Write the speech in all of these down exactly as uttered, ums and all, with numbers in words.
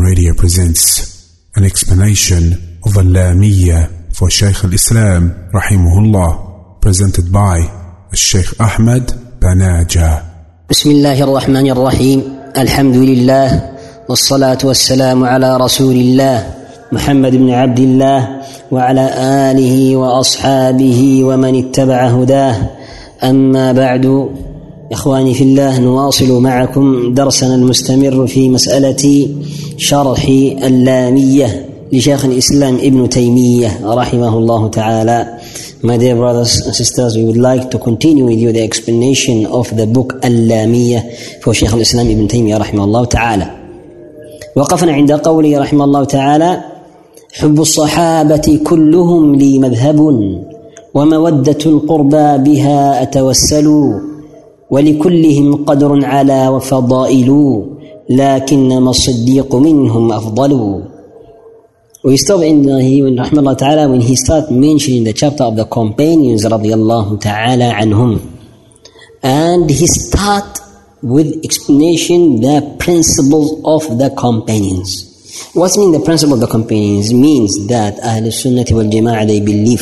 Radio presents an explanation of Al-Lamiyya for Shaykh al-Islam rahimahullah, presented by Shaykh Ahmed Banaja. Bismillahir Rahmanir Rahim. Alhamdulillah wassalatu wassalamu ala Rasulillah Muhammad ibn Abdullah wa ala alihi wa ashabihi wa man ittaba'a hudah. أما بعد، إخواني في الله، نواصل معكم درسنا المستمر في مسألة شرح اللامية لشيخ الإسلام ابن تيمية رحمه الله تعالى. My dear brothers and sisters, we would like to continue with you the explanation of the book اللامية for شيخ الإسلام ابن تيمية رحمه الله تعالى. وقفنا عند قوله رحمه الله تعالى: حب الصحابة كلهم لي مذهب، ومودة القربى بها أتوسل، ولكلهم قدر على وفضائل، لكنما الصديق منهم أفضل. We stop in he when rahimahullah ta'ala when he start mentioning the chapter of the companions radiyallahu ta'ala anhum, and he start with explanation the principles of the companions. What mean the principle of the companions? Means that Ahlul Sunnah wal Jama'ah, they believe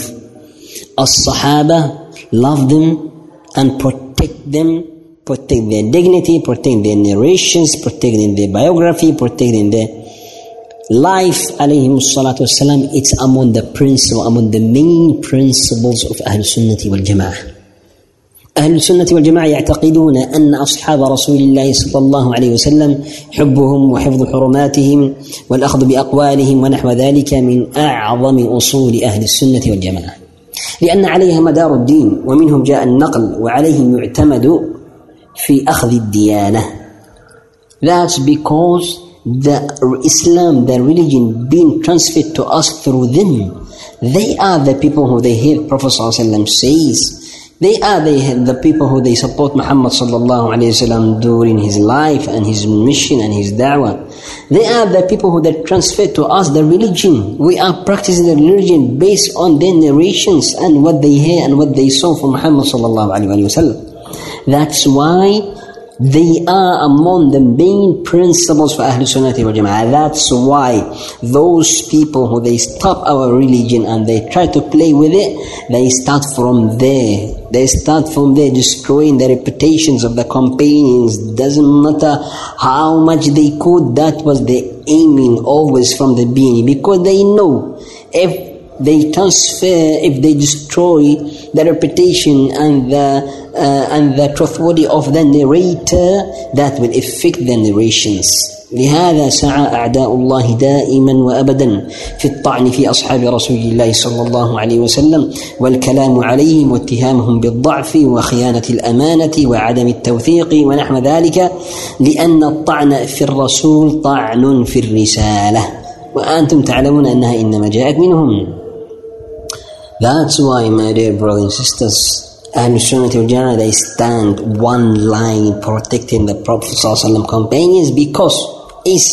as-Sahaba, love them and protect them, protect their dignity, protect their narrations, protecting their biography, protecting their life, alayhim salatu wassalam. It's among the principle, among the main principles of Ahl Sunnati wal Jama'ah. أهل السنة والجماعة يعتقدون أن أصحاب رسول الله صلى الله عليه وسلم حبهم وحفظ حرماتهم والأخذ بأقوالهم ونحو ذلك من أعظم أصول أهل السنة والجماعة، لأن عليها مدار الدين، ومنهم جاء النقل وعليهم يعتمد في أخذ الديانة. That's because the Islam, the religion being transferred to us through them. They are the people who they hear Prophet ﷺ says. They are the, the people who they support Muhammad sallallahu alayhi wa sallam during his life and his mission and his da'wah. They are the people who they transfer to us the religion. We are practicing the religion based on their narrations and what they hear and what they saw from Muhammad sallallahu alayhi wa sallam. That's why they are among the main principles for Ahlul Sunnati wal Jama'ah. That's why those people who they stop our religion and they try to play with it, they start from there. They start from there destroying the reputations of the companions. Doesn't matter how much they could, that was the aiming always from the beginning, because they know if they transfer, if they destroy the reputation and the uh, and the truthworthy of the narrator, that will affect the narrations. لهذا سعى أعداء الله دائما وأبدا في الطعن في أصحاب رسول الله صلى الله عليه وسلم والكلام عليهم واتهامهم بالضعف وخيانة الأمانة وعدم التوثيق ونحو ذلك، لأن الطعن في الرسول طعن في الرسالة، وأنتم تعلمون أنها إنما جاءت منهم. That's why, my dear brothers and sisters, Ahlul Sunnah wal Jama'ah, they stand one line protecting the Prophet ﷺ companions, because is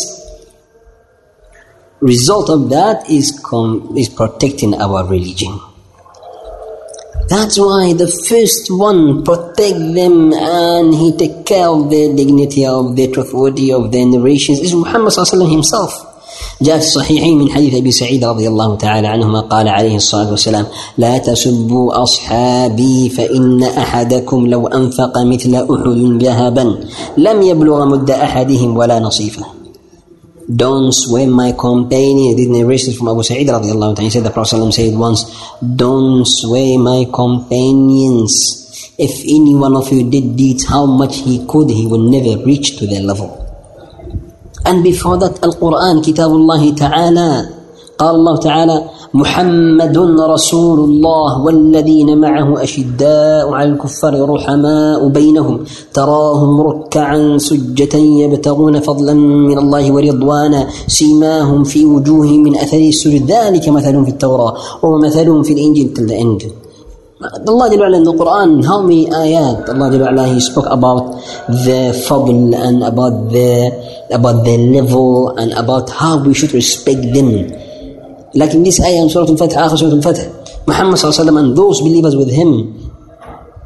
result of that is com- is protecting our religion. That's why the first one protect them and he take care of their dignity, of their truthworthy, of their narrations is Muhammad ﷺ himself. جاء في الصحيحين من حديث أبي سعيد رضي الله تعالى عنهما قال عليه الصلاة والسلام: لا تسبوا أصحابي فإن أحدكم لو أنفق مثل أحد ذهبا لم يبلغ مد أحدهم ولا نصيفه. Don't swear my companion. This narration from Abu Sa'id رضي الله عنه. He said, the Prophet said once, don't swear my companions. If any one of you did deeds how much he could, he will never reach to their level. And before that, Al-Quran, Kitabullah Ta'ala, قال الله تعالى: محمد رسول الله والذين معه أشداء على الكفار رحماء بينهم تراهم ركعا سجدا يبتغون فضلا من الله ورضوانا سيماهم في وجوههم من أثر السجود ذلك مثلهم في التوراة ومثلهم في الإنجيل till the end. Allah Jalla wa'ala in the Quran, how many ayat Allah Jalla wa'ala, He spoke about the fadl and about the about their level and about how we should respect them. Like in this ayah in Surah Al-Fatih, Akhir Surah Al-Fatih, Muhammad sallallahu alaihi wasallam and those believers with him,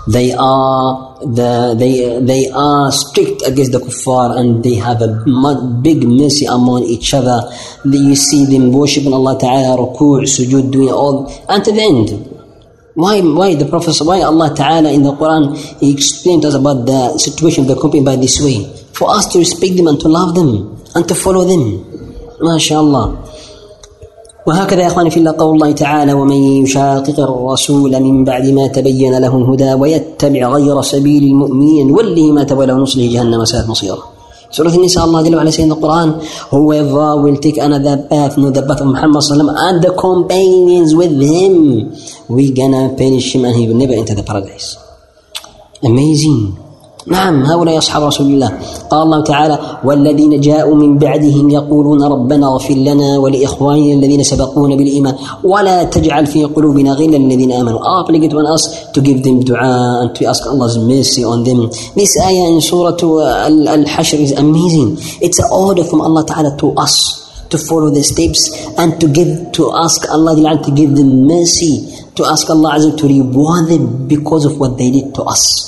They are the they they are strict against the kuffar, and they have a big mercy among each other. You see them worshiping Allah Ta'ala, ruku', sujood, doing all, and to the end. Why why the Prophet, why Allah Ta'ala in the Quran, He explained to us about the situation of the company by this way, for us to respect them and to love them and to follow them. MashaAllah. وهكذا يا أخواني في الله قول الله تعالى: ومن يشاقق الرسول من بعد ما تبين له الهدى ويتبع غير سبيل المؤمنين نوله ما تولى ونصله جهنم وساءت مصيره. Surah An-Nisa, Allah Jalla wa Ala says in the Quran, whoever will take another path, not the path of Muhammad sallallahu alaihi wasallam and the companions with him, we're gonna punish him and he will never enter the paradise. Amazing. نعم، هؤلاء أصحاب رسول الله. قال الله تعالى: والذين جاءوا من بعدهم يقولون ربنا اغفر لنا ولإخواننا الذين سبقونا بالإيمان ولا تجعل في قلوبنا غلا للذين آمنوا. Obligate on us to give them dua and to ask Allah's mercy on them. This ayah in Surah Al-Hashr is amazing. It's an order from Allah Ta'ala to us to follow the steps and to give, to ask Allah to give them mercy, to ask Allah to reward them because of what they did to us.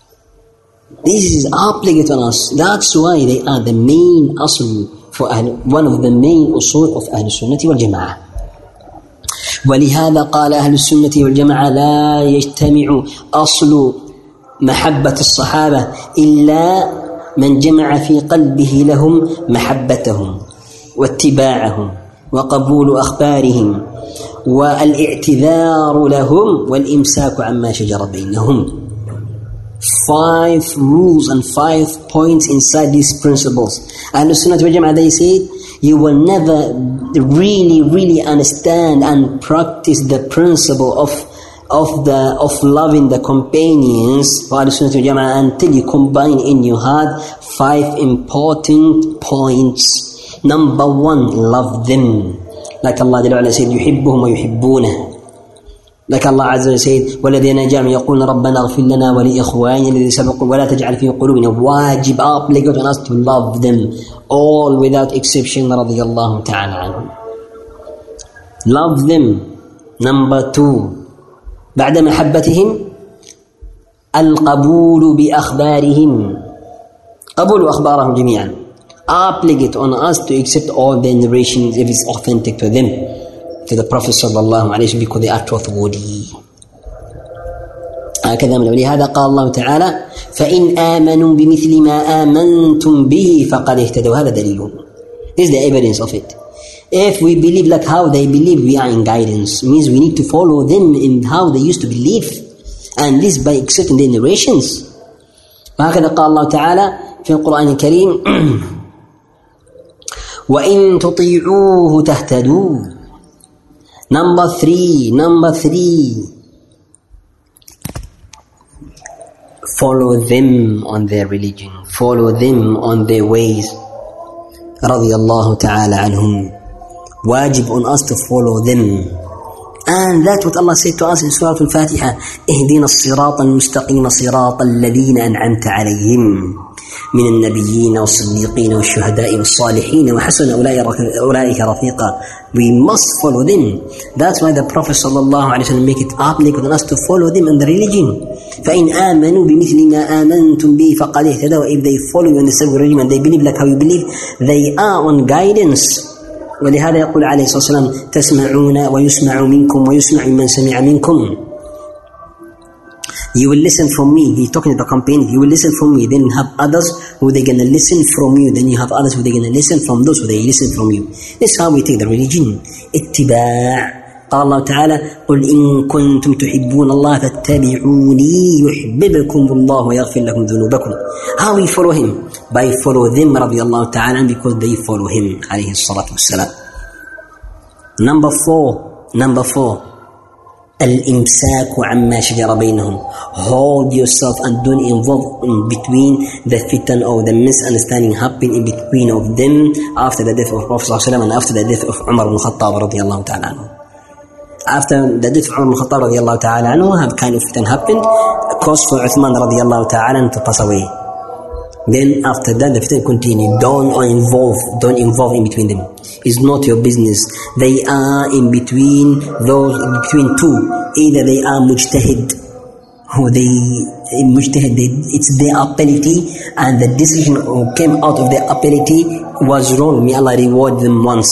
This is obligate on us. That's why they are the main asl for Ahl, one of the main usul of Ahl Sunnah wal Jama'ah. ولهذا قال أهل السنة والجماعة: لا يجتمع أصل محبة الصحابة إلا من جمع في قلبه لهم محبتهم واتباعهم وقبول أخبارهم والاعتذار لهم والإمساك عما شجر بينهم. Five rules and five points inside these principles. Ahlul Sunnah wal Jama'ah, they said, you will never really, really understand and practice the principle of of the of loving the companions for Ahlul Sunnah wal Jama'ah until you combine in your heart five important points. Number one, love them. Like Allah said, يحبهم ويحبونه. Like Allah Azza wa said, وَالَّذِينَ جَاءُوا يَقُولُونَ رَبَّنَا اغْفِرْ لَنَا وَلِإِخْوَانِنَا الَّذِينَ سَبَقُونَا وَلَا تَجْعَلْ فِي قُلُوبِنَا wajib, obligate on us to love them all without exception. رضي الله تعالى عنهم. Love them. Number two, بعد محبتهم القبول بأخبارهم. قبول أخبارهم جميعا. Obligate on us to accept all the narrations if it's authentic to them, to the Prophet sallallahu alayhi wa sallam, because they are trustworthy. هكذا من ولهذا قال الله تعالى: فإن آمنوا بمثل ما آمنتم به فقد اهتدوا. هذا دليل. This is the evidence of it. If we believe like how they believe, we are in guidance. It means we need to follow them in how they used to believe, and this by accepting their narrations. وهكذا قال الله تعالى في القرآن الكريم: وإن تطيعوه تهتدوا. Number three, number three, follow them on their religion, follow them on their ways. رضي الله تعالى عنهم. Wajib on us to follow them. And that's what Allah said to us in Surah Al-Fatiha: اهدنا الصراط المستقيم صراط الذين أنعمت عليهم من النبيين والصديقين والشهداء والصالحين وحسن أولئك رفيقا. We must follow them. That's why the Prophet sallallahu alaihi wasallam make it obligate on us to follow them in the religion. فإن آمنوا بمثل ما آمنتم به فقد اهتدوا. If they follow you in the same religion and they believe like how you believe, they are on guidance. ولهذا يقول عليه الصلاة والسلام: تسمعون ويسمع منكم ويسمع من سمع منكم. You will listen from me. He's talking to the companion. You will listen from me. Then you have others who they're going to listen from you. Then you have others who they're going to listen from those who they listen from you. This is how we take the religion. اتباع. قال الله تعالى: قل إن كنتم تحبون الله فاتبعوني يحببكم الله ويغفر لكم ذنوبكم. How we follow him? By follow them رضي الله تعالى, because they follow him عليه الصلاة والسلام. Number four, number four, الإمساك عما شجر بينهم. Hold yourself and don't involve in between the fitan or the misunderstanding happening in between of them after the death of Prophet صلى الله عليه وسلم and after the death of Umar ibn Khattab رضي الله تعالى عنه. After the death of Umar ibn Khattab رضي الله تعالى عنه, have kind of fitan happened, caused for Uthman رضي الله تعالى عنه to pass away. Then after that the fitan continued. Don't involve, don't involve in between them. It's not your business. They are in between those, between two. Either they are mujtahid who they mujtahid, they, it's their ability, and the decision who came out of their ability was wrong. May Allah reward them once.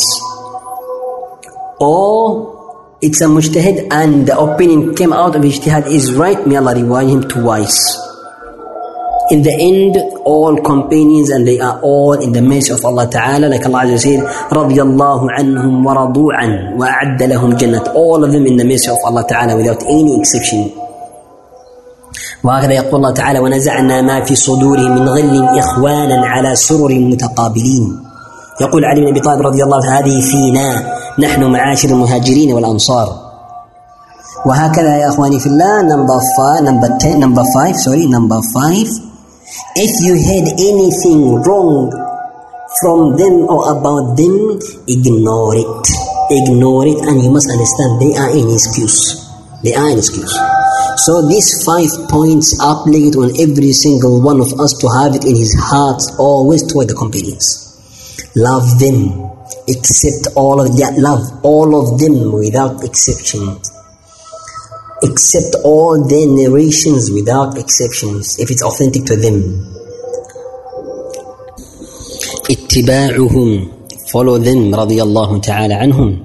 Or it's a mujtahid and the opinion came out of ijtihad is right. May Allah reward him twice. In the end, all companions, and they are all in the mercy of Allah Ta'ala, like Allah Azza said, رَضِيَ اللَّهُ عَنْهُمْ وَرَضُوا عَنْهُ وَأَعَدَّ لَهُمْ جَنَّةً. All of them in the mercy of Allah Ta'ala without any exception. وهكذا يقول الله تعالى ونزعنا ما في صدورهم من غل إخوانا على سرر متقابلين. يقول علي بن أبي طالب رضي الله عنه هذه فينا نحن معاشر المهاجرين والأنصار. وهكذا يا أخواني في الله. number five, number ten, number five, sorry, number five. If you heard anything wrong from them or about them, ignore it. Ignore it, and you must understand they are an excuse. They are an excuse. So these five points are obligate on every single one of us to have it in his heart always toward the companions. Love them. Accept all of that. Love all of them without exception. Accept all their narrations without exceptions if it's authentic to them. Ittiba'uhum. Follow them. Radiyallahu ta'ala anhum.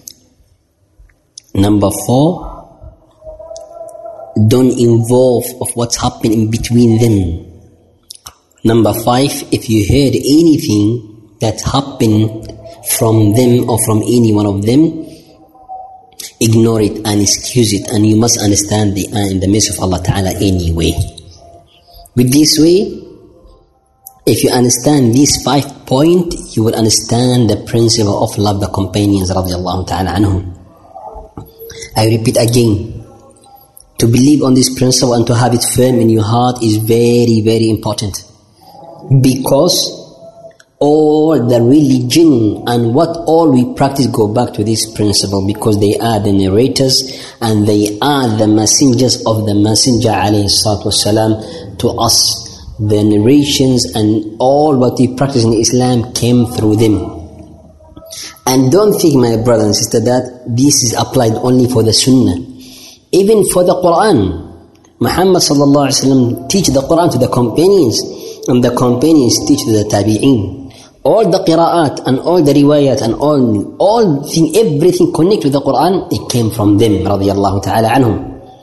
Number four. Don't involve of what's happening in between them. Number five, if you heard anything that happened from them or from any one of them, ignore it and excuse it, and you must understand they are in the midst of Allah Ta'ala anyway. With this way, if you understand these five points, you will understand the principle of love the companions radiallahu ta'ala anhum. I repeat again, to believe on this principle and to have it firm in your heart is very, very important. Because all the religion and what all we practice go back to this principle, because they are the narrators and they are the messengers of the Messenger alayhi salatu wasalam to us. The narrations and all what we practice in Islam came through them. And don't think, my brother and sister, that this is applied only for the Sunnah. Even for the Quran, Muhammad sallallahu alaihi wasallam teach the Quran to the companions, and the companions teach to the tabi'in. All the qira'at and all the riwayat and all all thing, everything connected to the Quran, it came from them, radiyallahu ta'ala anhum.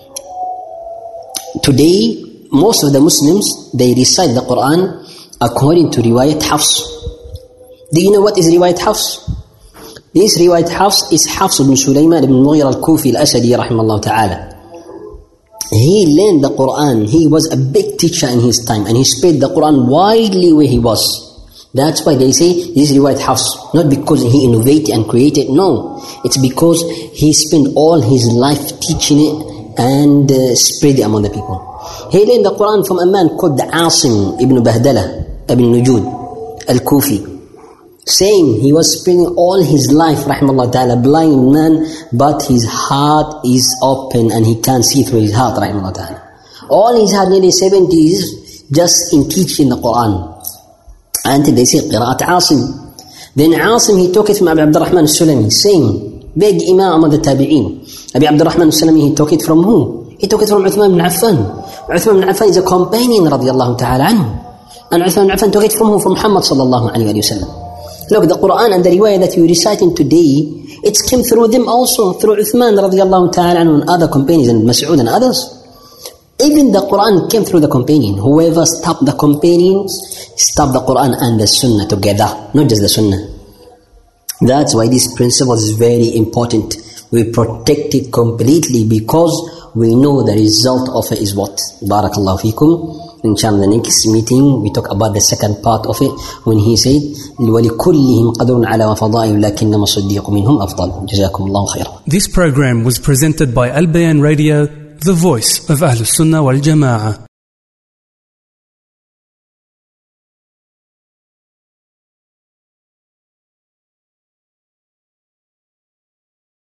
Today, most of the Muslims, they recite the Quran according to riwayat Hafs. Do you know what is riwayat Hafs? This riwayat Hafs is Hafs ibn Sulaiman ibn Mughira al-Kufi al-Asadi rahimahullah ta'ala. He learned the Quran. He was a big teacher in his time, and he spread the Quran widely where he was. That's why they say this is riwayat Hafs. Not because he innovated and created, no. It's because he spent all his life teaching it and uh, spread it among the people. He learned the Quran from a man called Asim ibn Bahdala ibn Nujud al-Kufi. Saying he was spending all his life, rahimahullah ta'ala, blind man, but his heart is open and he can see through his heart, rahimahullah ta'ala. All his heart, nearly seventy years, just in teaching the Quran. Until they say, Qira'at Asim. Then Asim, he took it from Abu Abdurrahman al-Sulami, saying, big imam among the tabi'een. Abu Abdurrahman al-Sulami, he took it from who? He took it from Uthman ibn Affan. Uthman ibn Affan is a companion, radiyallahu ta'ala anhu. And Uthman ibn Affan took it from who? From Muhammad sallallahu alayhi wa sallam. Look, the Quran and the riwayah that you're reciting today, it came through them also, through Uthman radiallahu ta'ala and other companions, and Mas'ud and others. Even the Quran came through the companion. Whoever stopped the companions, stopped the Quran and the Sunnah together, not just the Sunnah. That's why this principle is very important. We protect it completely because we know the result of it is what? Barakallahu feekum. Inshallah, the next meeting we talk about the second part of it when he said وَلِكُلِّهِمْ قَدْرٌ عَلَى وَفَضَائِهِ لَكِنَّمَا الصِّدِّيقُ مِنْهُمْ أَفْضَلُ جَزَاكُمُ اللَّهُ خَيْرًا. This program was presented by Al Bayan Radio, the voice of Ahlus Sunnah wal Jama'ah.